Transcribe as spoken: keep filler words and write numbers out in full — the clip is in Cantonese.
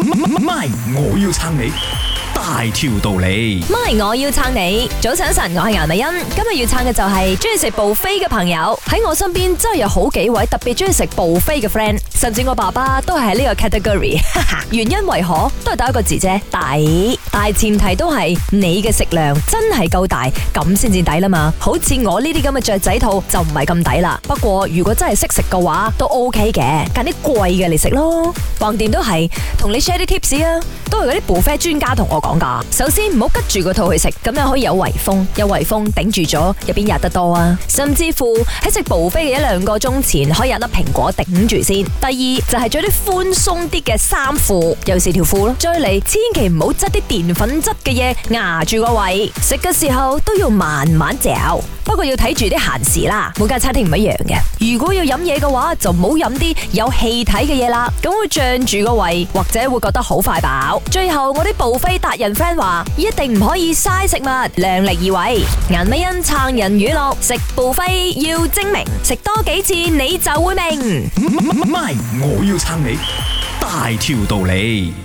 咪，我要撐你。大條道理， 咪我要撐你。早晨晨，我係顏美欣，今日要撐嘅就係中意食 buffet 嘅朋友。喺我身邊真係有好幾位特別中意食 buffet 嘅 friend，甚至我爸爸都係喺呢個 category。原因為何都係得一個字啫，抵。大前提都係你嘅食量真係夠大，咁先至抵啦嘛。好似我呢啲咁嘅雀仔肚就唔係咁抵啦。不過如果真係識食嘅話，都 OK 嘅，揀啲貴嘅嚟食咯。橫掂都係同你 share 啲 tips 啊，都係嗰啲 buffet 專家同我講噶。首先唔好吉住個肚去食，咁樣可以有圍封，有圍封頂住咗，入邊吔得多啊。甚至乎喺食 buffet 嘅一兩個鐘前，可以有粒蘋果頂住先。第二就係着啲寬鬆啲嘅衫褲，尤其是條褲咯。再嚟，千祈唔好執啲澱粉質嘅嘢壓住個胃，食嘅時候都要慢慢嚼。不過要睇住啲限時啦，每間餐廳唔一樣嘅。如果要飲嘢嘅話，就唔好飲啲有氣體嘅嘢啦，咁會脹住個胃，或者會覺得好快飽。最後我啲 buffet 達人 friend 話，一定唔可以嘥食物，量力而為。顏美欣撐人語錄，食 buffet要精明，食多幾次你就會明。 咪，我要撐你。大條道理。